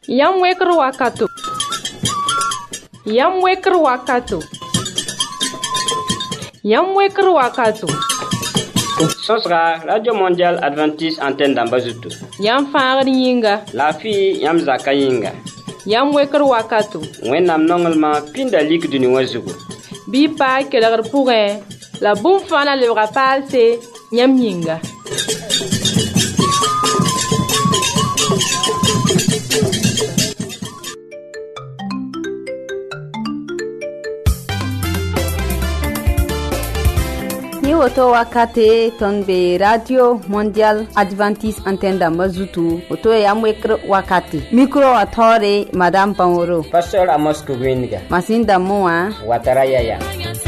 Yam wekr wakato. Yam wekr wakato. Yam wekr wakato. Sosra Radio Mondial Adventiste Antenne d'Ambazutu. Yam fangr yinga. La fi yam zaka yinga. Yam wekr wakato. Wennam nongelma pinda lik duni wazugu. Bi pa kelgr pourrin. La boum fana le rapalse yam yinga. Ni woto wakate ton be Radio Mondial Adventiste Antenne d'Ambazutu. Woto yam wekr wakate. Micro atore Madame Panoro. Pastor Amos Kubinga. Masinda moa. Wataraya ya.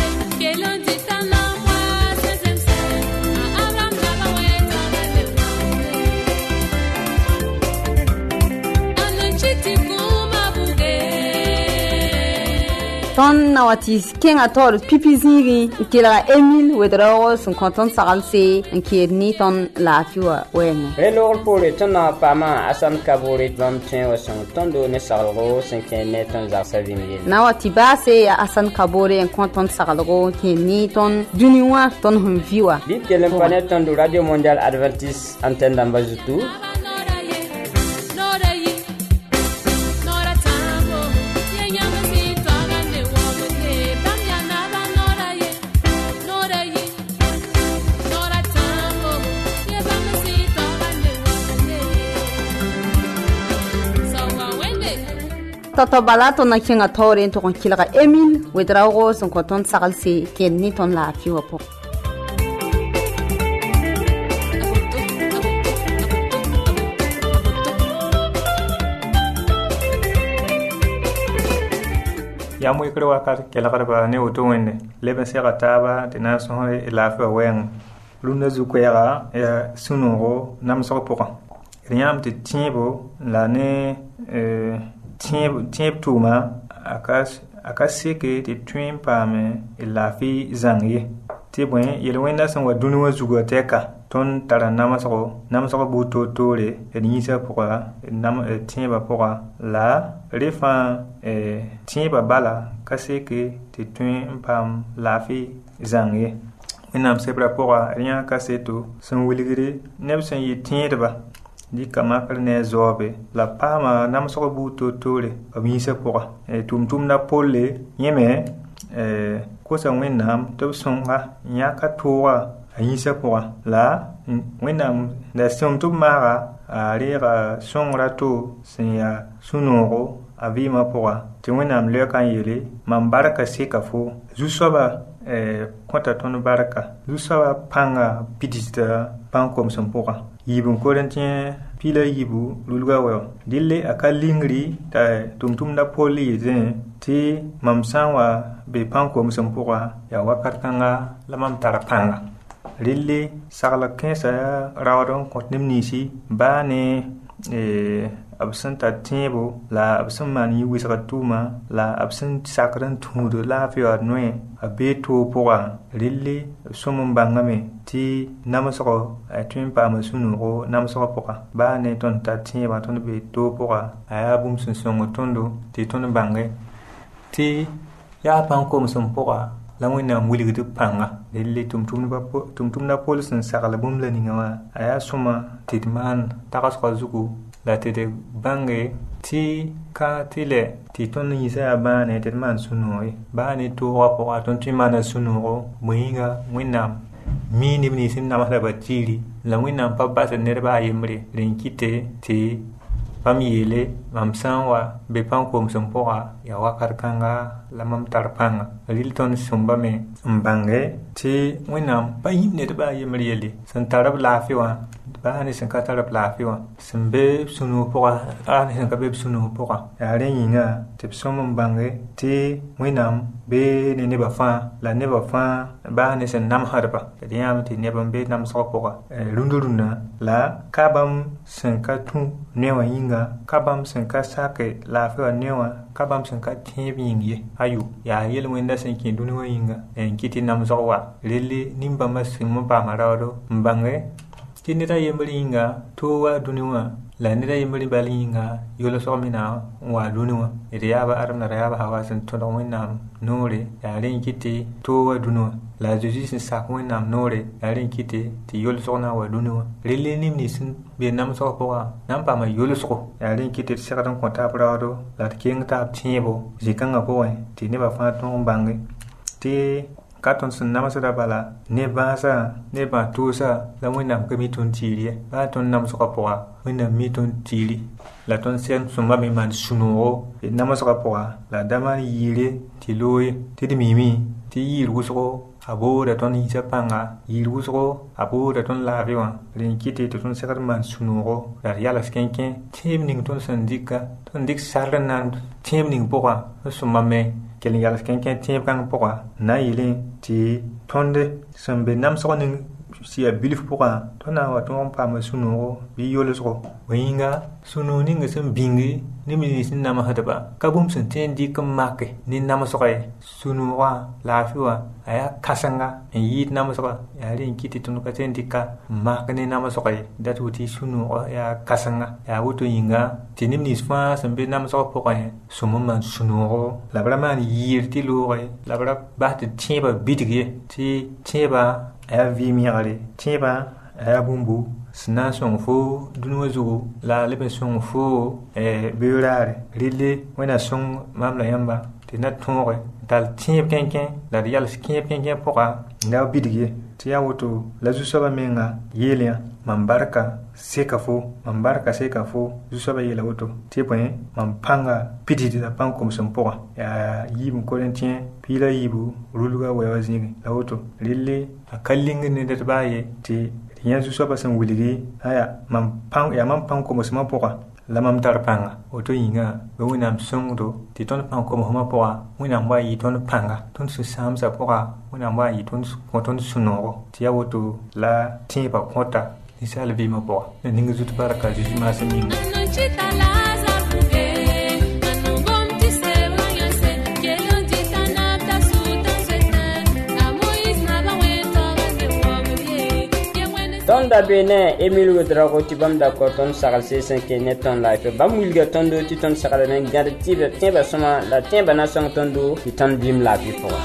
Ton nawati kenga tor pipi zingi kila Emile Wedro son content salse ni ton la fiwa wen. Hello pour le tona pama asan kabore vam tien wa son tondo ne salgo 5 net ton za savimie. Nawati base ya asan kabore en content salgo ni ton duniwa ton humviwa. Dit que l'imponet ton de Radio Mondial Adventiste Antenne d'Ambazutu. Toto balato na kinga tore to kon kilaka Emile Wedrago son content salse ni ton la fiwa po. Yam wekr wakat kelgr ba ne woto wende leben sega taba de na so la fa wen luna zu kwera ya sunoro nam so poka riam te tiebo la ne tieb tuma akaseke te twin pame la fi zangie te bwen yel wenda son wa dunu wa zugo teka ton tara namaso buto tore nisa poka nam tieba poka la refa tieba bala kaseke te twin pam la fi zangie wenam sebra poka rien kaseto son wiligre nebsen yi tiedba di kama ne zobe la pama nam so buto tore amisa poka tum na polle yeme ko sa wenam to songa nyaka towa ayisa poka la wenam da som to mara arira songra to sinya sunoro avima poka ti wenam le kan yele man baraka sekafo zusoba kwata ton baraka zusoba panga pidista pankom som poka yibun korentien pila yibu lulga wa dille akalingri ta tumtum da poli zen ti mamsanwa be panko musampura ya wakarkanga lamam tarapanga lille sagla kensa rawdon kotnimnisi bane absenta tiebo la absent mani wisratuma la absent sakran tudo la fiwa noe abeto poa lille somum bangame ti namasoko atun pa masunu namasoko poa ba ne ton ta tieba ton be to poa aya bum sun songo tondo ti ton bange ti ya panko musum poa la wina mwili du panga lille tumtum na polisin sakala bum la ningawa aya soma tidman takasko zuku la tete bange ti ka tile ti ton yisa ba ne te man sunoi ba ne to rapo aton ti man sunoro muinga winam mini ni sin na mala batiri la winam pa ba se ne ba yemre linkite ti pamiyele mamsanwa be panko msompora ya wakarkanga la mam tarpanga rilton sumba me mbange ti winam ba yimne te ba yemre yele san tarab lafiwa ba ni san ka tarab lafiwa simbe sunu pora ani san ka be sunu pora ya re yinga te somum bange ti winam be ne ba fa la ne ba fa ba ni san nam harba de yam ti ne ban be nam so pora lunduruna la kabam san ka tu ne wa yinga kabam san ka sake lafiwa ne wa kabam san ka tibi yingi ayu ya yel wenda san ki dunu wa yinga en kiti nam so wa lele nimba masim ba marado mbange ti neda yemringa to wa duniwa la neda yemri balinga yolo so mina wa duniwa ide yaba aram na yaba hawasan to don winam nore ya rin kiti to wa duniwa la Jesus sin sak winam nore ya rin kiti ti yolo so na wa duniwa rele nim ni sin be nam so ko nam pa ma yolo so ya rin kiti sakadan ko ta brado la king ta tiebo jikanga ko ti ne ba fa ton bangi ti katon sun namasada bala ne basa ne ba tusa la winam ke mitun tiri ba ton nam so ko winam mitun tiri la ton sen sumba mi man sunuo namaso ko la dama yire ti loye ti mimi ti yiru so abo da ton isa panga yiru so abo da ton la viwa rin kiti to ton sekar man sunuo la yala skenken tim ning ton sandika ton dik sarnan tim ning poa sumba me kelen yala skenken tim kan poa na yile ti tonde sambe nam so ning si a bilif poa tona wa ton pa ma sunuo bi yolo so winga sunu ning sem bingi ni mi sin nama hadaba kabum sun ten di kam make ni nama so kay sunu wa lafiwa aya kasanga en yi nama so ya rin kiti tun ka ten di ka mak ni nama so kay datu ti sunu ya kasanga ya wuto yinga tinim ni sfa sembe nama so poa sumu man sunu la brama ni yirti lo la bra ba ti tiba bidige ti tiba aya vi miare tiba aya bumbu sina song fo dunwa zugo la lebe song fo beurare rille wena song mamla yamba te na tonre dal tiep kenken la yal skien kenken poka na bidige ti ya woto la zu soba menga yelia mambarka seka fo zu soba yela woto ti point mampanga pididi da panko msompoa ya yim korentien pila yibu ruluga wewa zingi la woto rille akallinga ne dat baye ti yanzu so basan wuligi aya mam pang ko mosma poka la mam tar panga oto yinga be winam songdo ti ton pang ko mo poka winam wa yi ton panga ton su sam sa poka winam wa yi ton ko ton suno ti ya woto la ti ba kota ni sala bi mo poka ni ngi zutu baraka ji ma sa ni Tonda bene Emile Wodrago tibam da koton sagal se 5 net ton life bam wilga tondo ti ton sagal na ngade tibe tiba soma la tiba na song tondo ti ton bim la bi poa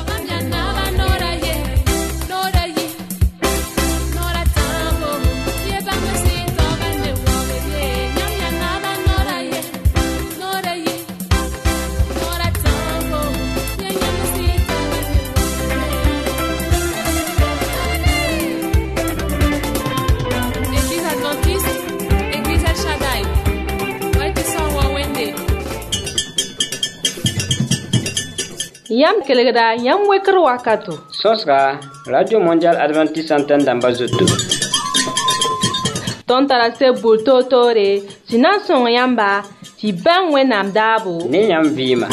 Yam kelegda yam wekr wakato. Sosga Radio Mondial Adventiste Antenne d'Ambazoto. Ton tarase bulto tore sinan son yamba ti ban wenam dabo. Ni yam vima.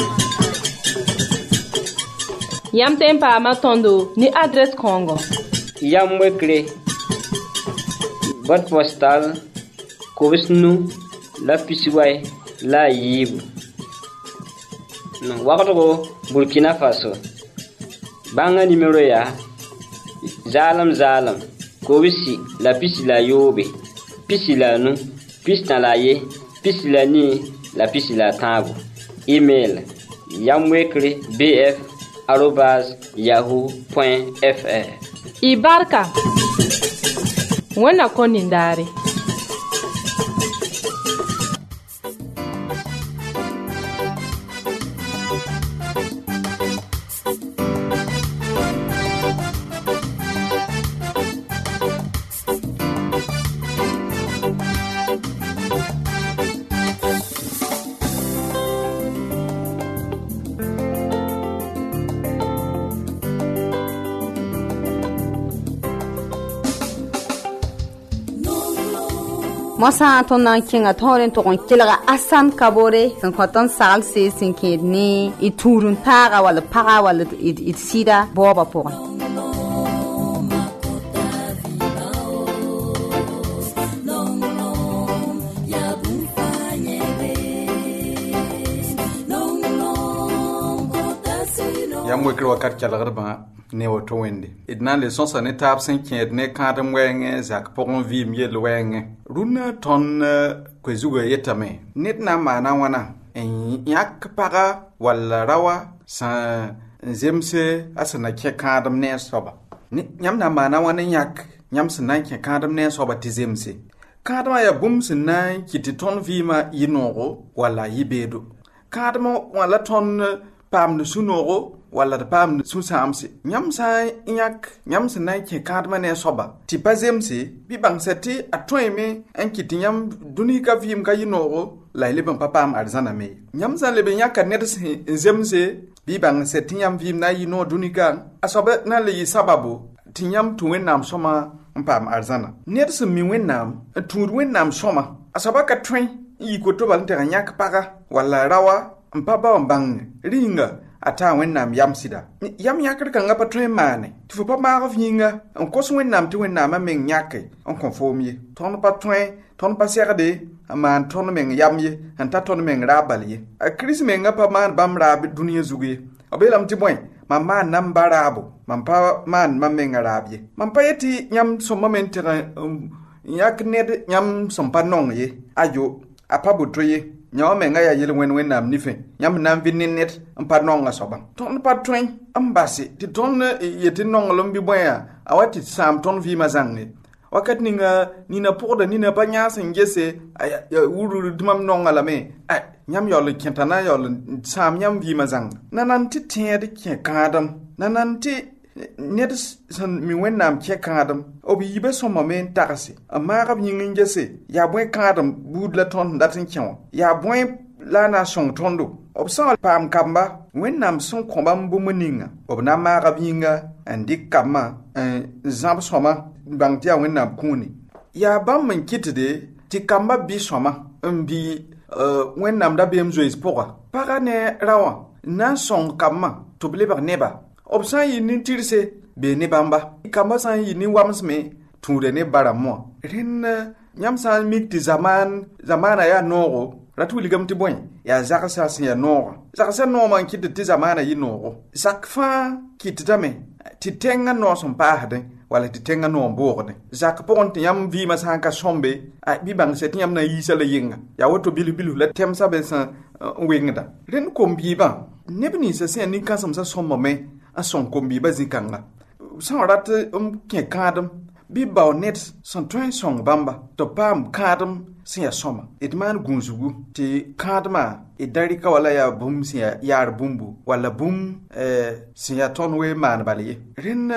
Yam tempa matondo ni adresse Congo. Yam wekre. Boîte postale Kovisnu la Pisiway la Yibu. No wakato Burkina Faso. Banga numéro ya Zalam Kowisi la pisi la yobe pisi la nu pisi la ye pisi la ni la pisi la tabu. Email yamwekre@yahoo.fr. Ibarka wana konindare. Mosa ton nan kinga toren to kon kilaga asan kabore san khoton sal se sin kedni iturun taga wala paga wala it sida boba po yãmb wekr wakat kelgdbã ne woto wẽnde d na n le sõsa ne taab sẽn kẽed ne kãadem wɛɛngẽ zak pʋgẽ vɩɩm yell wɛɛngẽ rũnnã tõnd koe-zugã yetame ned na n maana wãna n yãk paga wall rawa sẽn zemse a sẽn na kẽ kãadem ne a soaba yãmb na n maana wãn n yãk yãmb sẽn na n kẽ kãadem ne a soaba tɩ zemse kãadmã yaa bũmb sẽn na n kɩ tɩ tõnd vɩɩmã yɩ noogo walla yɩ beedo kãadmã wãla tõnd paamd sũ-noogo walla d paamd sũ-sãamse yãmb sã n yãk yãmb sẽn na n kẽ kãadmã ne a soaba tɩ pa zemse bɩ bãngsa tɩ a tõeme n kɩ tɩ yãmb dũni ka vɩɩm ka yɩ noogo la y leb n pa paam arzãna me yãmb sã n leb n yãka ned sẽn zemse bɩ bãngsa tɩ yãmb vɩɩm na n yɩ noog dũnika a soaba na n le yɩ sababo tɩ yãmb tũ wẽnnaam sõma n paam arzãna ned sẽn mi wẽnnaam n tũud wẽnnaam sõma a soaba ka tõe n yik woto bal n teg n yãk paga walla rawa n pa bao n bãng rĩnga a taa wẽnnaam yam sɩda yam yãkd kãngã pa tõe n maane tɩ fo pa maag f yĩnga n kos wẽnnaam tɩ wẽnnaamã meng yãke n kõ foom ye tõnd pa tõe tõnd pa segde n maan tõnd meng yam ye n ta tõnd meng raab bal ye a kirist mengã pa maan bãmb raab dũniyã zug ye b yeelame tɩ bõe mam maan nam ba raabo mam pa maan mam menga raab ye mam pa yetɩ yãmb sõma me n teg n yãk ned yãmb sẽn pa nong ye ayo a pa boto ye yã wã mengã yaa yel wẽnnaam nifẽ yãmb na n vɩ ne ned n pa nongã soabã tõnd pa tõe n base tɩ tõnd yetɩ nonglem bɩ bõeã a wa tɩ sãam tõnd vɩɩmã zãnge wakat ninga nina pʋgda nina pa yãas n gese wurr tɩ mam nongã lame yãmb yaool n kẽta na yaool n sãam yãmb vɩɩmã zãnga nanan tɩ tẽed kẽ kãadem nanan tɩ ned sẽn mi wẽnnaam kẽ kãadem b yiibã sõmame n tagse n maagb yĩng n gese yaa bõe kãadem buud la tõnd n dat n kẽ wã yaa bõe la a na n sõng tõndo b sã n paam kamba wẽnnaam sẽn kõ bãmb bũmb ninga b na n maagb yĩnga n dɩk kambã n zãb sõma n bãng tɩ yaa wẽnnaam kũune yaa bãmb n kɩtde tɩ kambã bɩ sõma n bɩ wẽnnaam da beem zoees pʋga paga ne raowã n na n sõng kambã tɩ b lebg neba b sã n yɩ nin-tɩrse bee ne bãmba kambã sã n yɩ nin-wamsme tũuda ne barãmb wã rẽnd yãmb sã n mik tɩ zamaana yaa noogo rat wilgame tɩ bõe yaa zagsã sẽn yaa noogã zagsã noomã n kɩtd tɩ zamaana yɩ noogo zak fãa kɩtdame tɩ tẽngã noos n paasdẽ wala tɩ tẽngã noog n boogdẽ zak pʋgẽ tɩ yãmb vɩɩmã sã n ka sõmbe bɩ bãngsa tɩ yãmb na n yiisa la yenga yaa woto bilf-bilf la tɛmsã be sẽn n wengda rẽnd kom-biibã neb ninsã sẽn yaa nin-kãsemsã sõmbame n sõng kom-biibã zĩ-kãnga sã n rat n kẽ kãadem bɩ bao ned sẽn tõe n sõng bãmba tɩ paam kãadem sẽn yaa sõma d maan gũusgu tɩ kãadmã d da rɩka wala yaa bũmb sẽn yaa yaar bũmbu walla bũmb sẽn yaa tõnd we maan bal ye rẽnd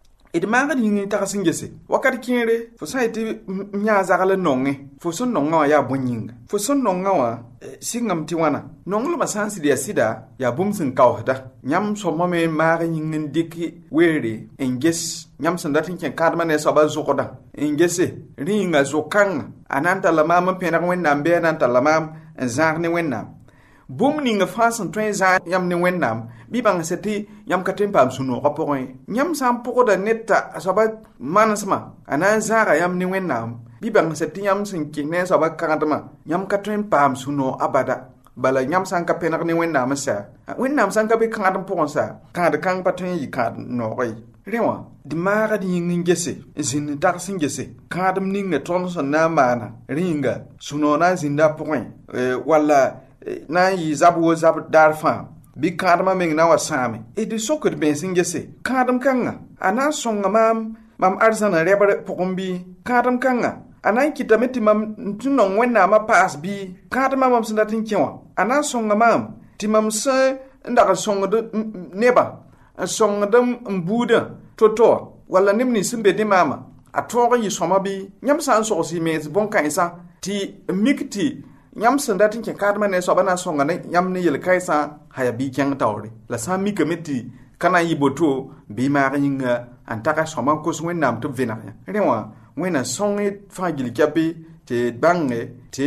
d maagd yĩng n tags n gese wakat kẽere fo sã n yetɩ yãa zagl n nongẽ fo sẽn nongã wã yaa bõe-yĩnga fo sẽn nongã wã sɩngame tɩ wãna nonglmã sã n sɩd yaa sɩda yaa bũmb sẽn kaoosda yãmb sõmame n maag yĩng n dɩk weere n ges yãmb sẽn dat n kẽ kãadmã ne a soabã zʋgdã n gese rĩnga zʋg-kãngã a na n talla maam n pẽneg wẽnnaam bɩ a na n talla maam n zãag ne wẽnnaam bũmb ning fãa sẽn tõe n zãag yãmb ne wẽnnaam bɩ bãngsa tɩ yãmb ka tõe n paam sũ-noogã pʋgẽ ye yãmb sã n pʋgda ned t'a a soabã manesmã a na n zãaga yãmb ne wẽnnaam bɩ bãngsa tɩ yãmb sẽn kẽ ne a soabã kãadmã yãmb ka tõe n paam sũ-noog abada bala yãmb sã n ka pẽneg ne wẽnnaam sa wẽnnaam sã n ka be kãadem pʋgẽ sa kãad-kãng pa tõe n yɩ kãad noogã ye rẽ wã d maagd yĩng n gese n zĩnd n tags n gese kãadem ninga tõnd sẽn na n maana rĩnga sũ-noog na n zĩnda a pʋgẽ walla na n yɩ zab wo zab daar fãa bɩ kãadmã meng na n wa sãame d sokd bẽes n gese kãadem kãngã a na n sõnga mam arzãna rɛbr pʋgẽ bɩ kãadem kãngã a na n kɩtame tɩ mam tɩ nong wẽnnaamã paas bɩ kãadmã mam sẽn dat n kẽ wã a na n sõnga maam tɩ mam sẽn n dag n sõngd nebã n sõngd n buudã to-to wã walla neb nins sẽn be ne maamã a tõog n yɩ sõma bɩ yãmb sã n sogs y mees bõn-kãensã tɩ n mik tɩ yãmb sẽn dat n kẽ kãadmã ne soabã na n sõnga ne yãmb ne yel-kãensã a yaa bɩ kẽng taoore la sã n mikame tɩ ka na n yɩ boto bɩ maag yĩnga n tag sõma n kos wẽnnaam tɩ b vẽneg yã rẽ wã wẽnna sõng fãa gil kɛpɩ tɩ bãnge tɩ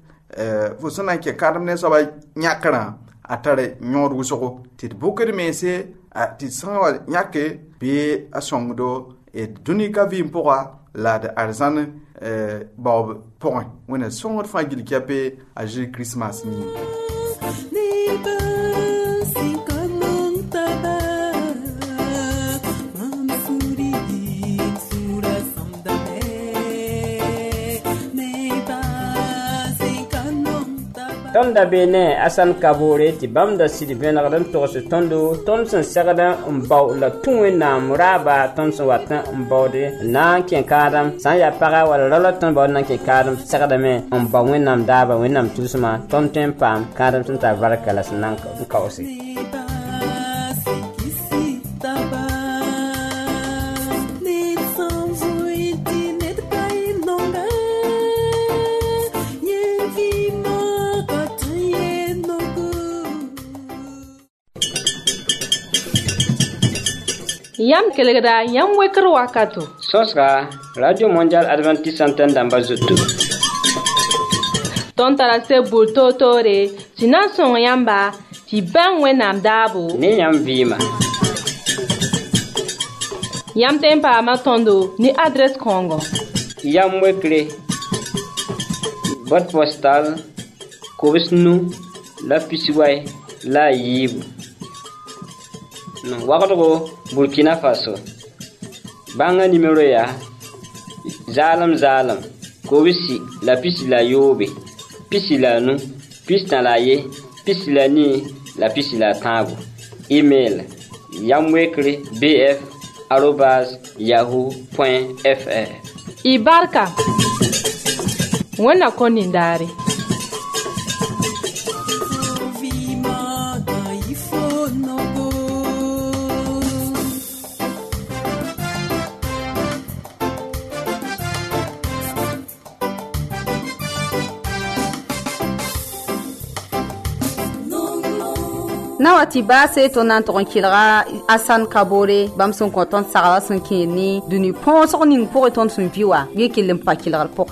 fo sẽn na n kẽ kãadem ne soabã yãkrã a tar yõod wʋsgo tɩ d bʋkd meese tɩ sã n wa yãke bɩ a sõngdo d dũnika vɩɩm pʋga la d arzãn baoob pʋgẽ wẽnna sõngd fãa gil kɛpɩ a Jésus Christmas yĩng tonda bene asan kabore ti bamda sidi benagdan tosu tondo tonsen sagada mbaw la tuwe na muraba tonsen watan mbawde na ken kadam san ya paga wala lala ton baw na ken kadam sagada me mbaw wenam daba wenam tusma tonten pam kadam tunta barakala sanan kawsi Yam kelegra yam wekro wakato. Sosra Radio Mondial Adventiste Antenne d'Ambazoto. Ton tarase bulto tore, tina son yamba, ti ban wenam dabo. Ni yam vima. Yam tempa matondo ni adresse Congo. Yam wekre. Boîte postale Kobisnu la Pisiway la Yibu. Wakato Burkina Faso. Banga numéro ya Zalam Kobisi la pisi la Yobe. Pisi la nu, pisi la ye, pisi la ni, la pisi la tabu. Email yamwekre@yahoo.fr. Ibarka. Wana konindari. Nawati ba se to nan to kilra asan kabore bam son konton sara son kini duni pon so ning pour ton son viwa ye kilim pa kilra poka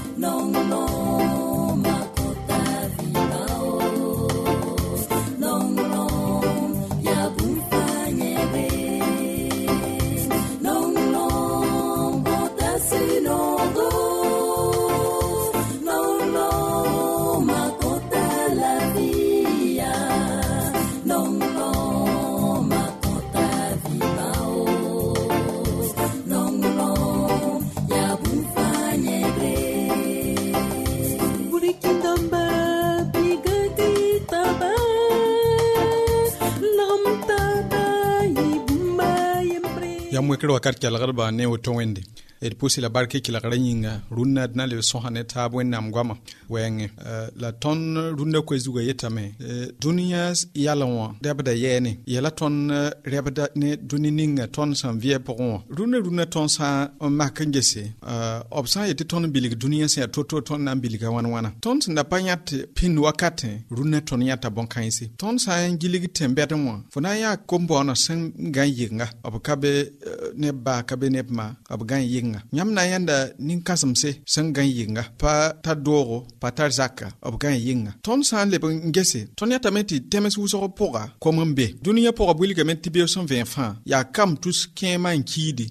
yamwe wakat kala garba ne woto wende et pousse la barke ki la garanyinga runna na le sohane tabwe nam gwama wenge la ton runna ko zuga yetame dunia yalwa debda yene yala ton rebda ne dunininga ton san vie pour runna ton sa makangese obsa yete ton bilig dunia se toto ton na biliga wana ton na panyat pin wakate runna ton yata bonkaisi ton sa ngiligi tembete mo fona ya kombo na san ganyinga abkabe ne ba kabe ne ma abgan yinga nyamna yanda nin kasamse sangan yinga pa ta doro pa tar zaka abgan yinga ton san le ngese ton ya tameti temes wuso poga komambe dunia poga bulika meti be 120 francs ya kam tous kema nkidi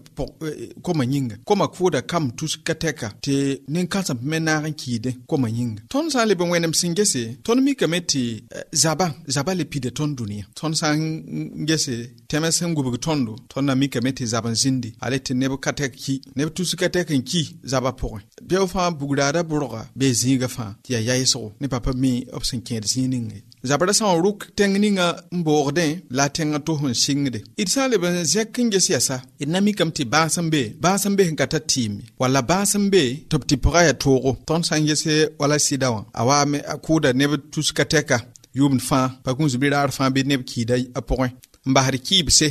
koma yinga koma kuda kam tous kateka te nin kasam menaran kide koma yinga ton san le wenem singese ton mi kameti zaba le pide ton dunia ton san ngese temes ngubu tondo ton na mi kameti zaban zindi alete nebu kateki nebu tusukatekin ki zaba point bia fa bugdada buroga be zinga fa ya yaiso ne papa mi opsin kende zininge zabara sa ruk tengninga mborde la tenga to hun singde itsale ben zekinge siasa inami kamti basambe ngata timi wala basambe topti poraya toro ton sangese wala sidawa awame akuda nebu tuskateka yum fa pakun zubira fa be neb kidai a point mbahar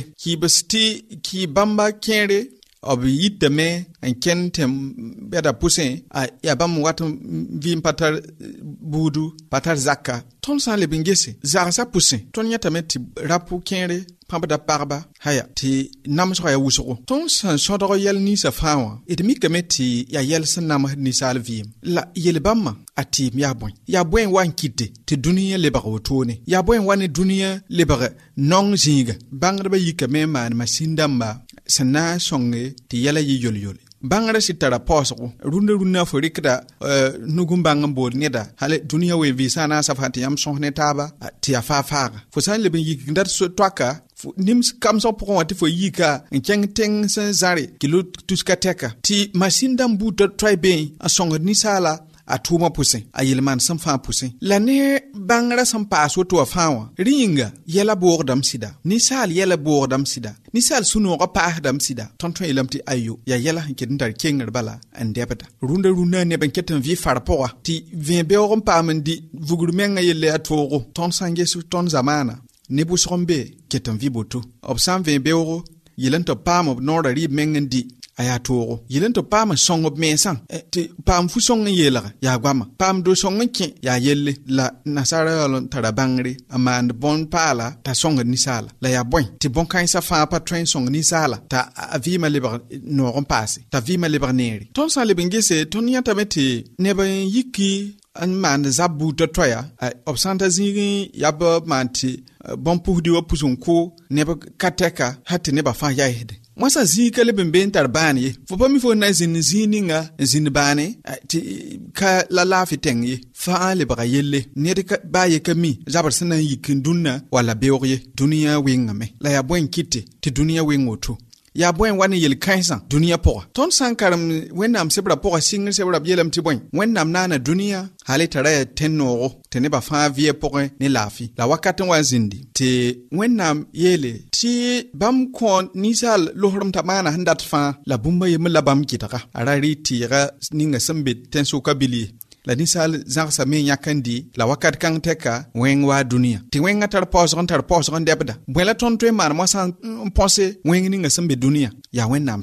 kibsti ki bamba kere obi yitame en kentem beda pousin a yabam wat vim patar budu patar zakka ton san le bingese zara sa pousin ton yatame ti rapu kere pamba parba haya ti namso ya wuso ton san sodoro yel ni sa fawa edmi kameti ya yel san nam ni sal vim la yel bamma ati ya boy wan kite ti duniya le ba wotone ya boy wan duniya le ba non zinga bangre ba yikame man masindamba sana songe ti yala yi yol bangara sitara poso runda forikda nugumbanga bol neda hale duniya we visa na safati yam sonne taba ti afafa fo san le bin yikndar so twaka nims kam so pour wati fo yika nkeng teng san zare kilo tuska teka ti masindam buta tribe a songe ni sala a tʋʋmã pʋsẽ a yelmaan sẽn fãa pʋsẽ la ne bãngrã sẽn paas woto wã fãa wã rĩnga yɛla boogdame sɩda ninsaal yɛla boogdame sɩda ninsaal sũ-noogã paasdame sɩda tõnd tõe yeelame tɩ ayo yaa yɛla sẽn ket n tar kengr bala n dɛbda rũndã neb n ket n vɩ far pʋga tɩ vẽ-beoog n paam n dɩ vugr mengã yelle a toogo tõnd sã n ges tõnd zamaana neb wʋsg n be ket n vɩ boto b sã n vẽ-beoogo yel n tɩ paam b noorã rɩɩb meng n dɩ a yaa toogo yel n tɩ paam n sõng b mensã tɩ paam fu-sõng n yeelga yaa goama paam do-sõng n kẽ yaa yelle la nasaara yaool n tara bãngre n maand bõn-paala t'a sõngd ninsaala la yaa bõe tɩ bõn-kãensã fãa pa tõe n sõng ninsaala t'a vɩɩmã lebg noog n paase t'a vɩɩmã lebg neere tõnd sã n leb n gese tõnd yãtame tɩ neb n yiki n maand zab buutã toya b sã n ta zĩig yaa b maan tɩ bõn-pusdi wã pus n kʋ neb ka tɛka ha tɩ nebã fãa yaɛsde moasa zĩig ka leb n be n tar bãan ye fo pa mi fo na n zĩnd zĩig ninga n zĩnd bãane tɩ ka la laafɩ tɛng ye fãa lebga yelle ned baa ye ka mi zabr sẽn na n yik n dũnna walla beoog ye dũniyã wɩngame la yaa bõe n kɩte tɩ dũniyã wɩng woto yaa bõe wa ne yel kãensã dũniyã pʋga tõnd sã n karem wẽnnaam sebrã pʋga sɩngr sebrã b yeelame tɩ bõe wẽnnaam naana dũniyã hal tara yaa tẽn-noogo tɩ nebã fãa vɩɛ pʋgẽ ne laafɩ la wakat n wa n zĩndi tɩ wẽnnaam yeele tɩ bãmb kõ ninsaal losrem t'a maana sẽn dat fãa la bũmba yembr la bãmb gɩdga a ra rɩ tɩɩga ninga sẽn be tẽn-sʋka bil ye la ninsaal zãgsa me yãk n dɩ la wakat kãng tɛka wẽng waa dũniyã tɩ wẽngã tar paoosg n dɛbda bõe la tõnd tõe n maan moasã n põse wẽng ninga sẽn be dũniyã yaa wẽnnaam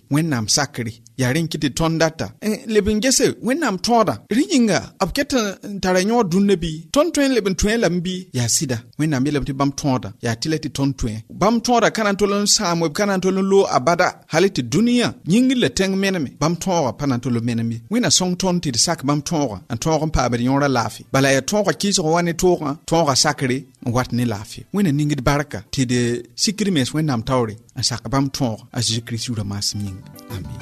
sakre yaa rẽ n kɩ tɩ tõnd data leb n gese wẽnnaam tõoda rẽ yĩnga b ket n tara yõor dũnnã bɩ tõnd tõe n leb n tõe lame bɩ yaa sɩda wẽnnaam yeelame tɩ bãmb tõoda yaa tɩ la tɩ tõnd tõe bãmb tõoda ka na n tol n sãam b ka na n tol n loog abada hal tɩ dũniyã yĩngr la tẽng meneme bãmb tõoga pa na n tol n menem ye wẽnna sõng tõnd tɩ d sak bãmb tõoga n tõog n paamd yõorã laafɩ bala yaa tõoga kɩɩsg wa ne toogã tõoga sakre n wat ne laafɩ wẽnna ningd barka tɩ d sikr mens wẽnnaam taoore n sak bãmb tõoga a Zeezi Kirist yʋʋra maasem yĩng amin.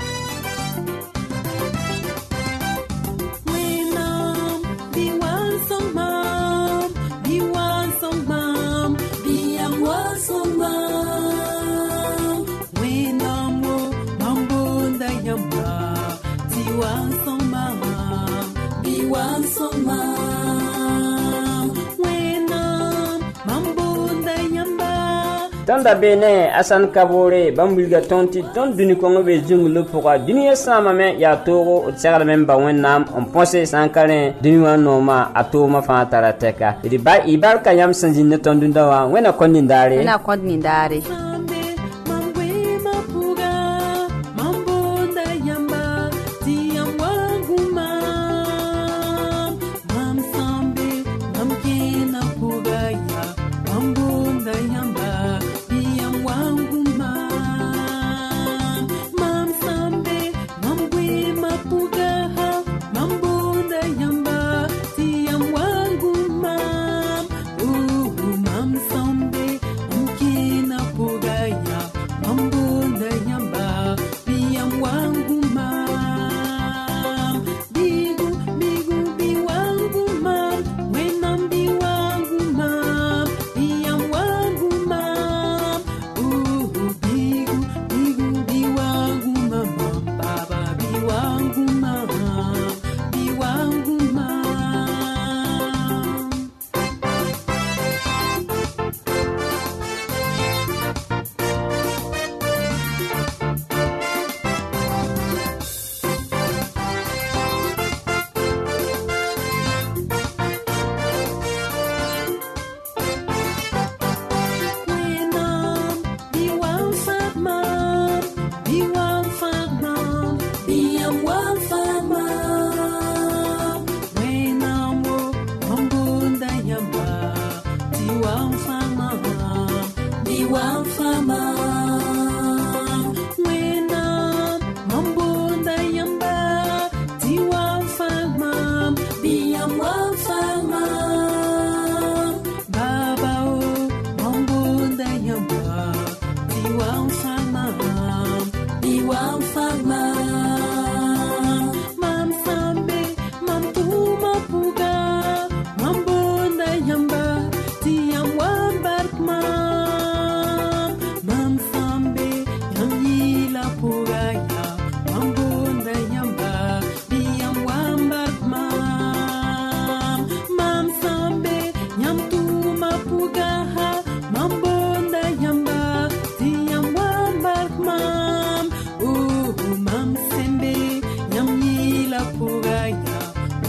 Tanda bene asan kabore bambulga tonti ton duni kongo be junglo pourquoi duniya sama me ya togo tsara men ba wennam on pense sankare duniya noma atoma fa tarateka idi ba ibarka yam sanjin ton dundawa wena kondindare Puga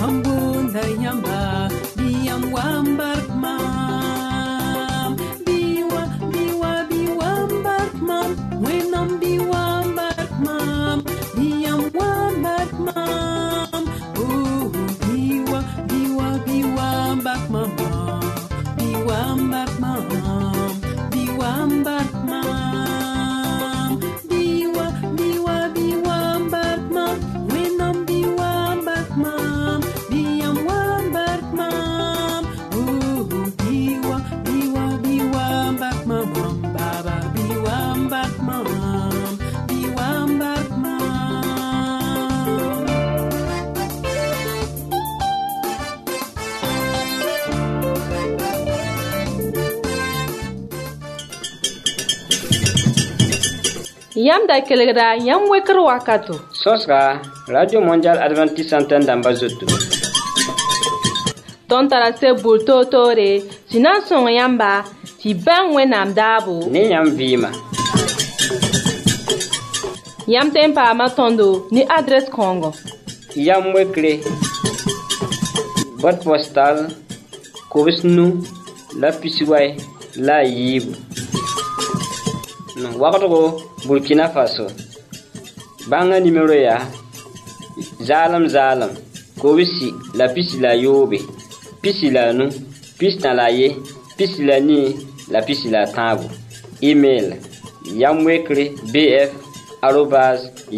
Ambunda yamba biyam wambark mam biwa biwa biwambark mam wenam biwambark mam biyam wambark mam biwa biwa biwambark mam biwambark mam biwambark mam biwa biwa biwambark mam wenam biwambark mam biyam wambark mam biwa biwa biwambark mam baba biwambark mam biwambark mam. Yam da kelgra yam wekr wakato. Sosra Radio Mondial Adventiste Antenne d'Ambazoto. Ton tarase bulto tore, sinan son yamba, ti ban wenam dabo. Ni yam vima. Yam tempa matondo ni adresse Congo. Yam wekre. Boîte postale. Kobisnu. La Pisiway. La Yib. Wakato Burkina Faso. Banga numéro ya. Zalam. Kobisi la pisi la yobe. Pisi la nu. Pisi na la ye. Pisi la ni. La pisi la tabu. Email. Yamwekre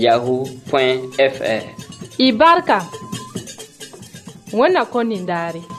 bf@yahoo.fr. Ibarka. Wana konindari.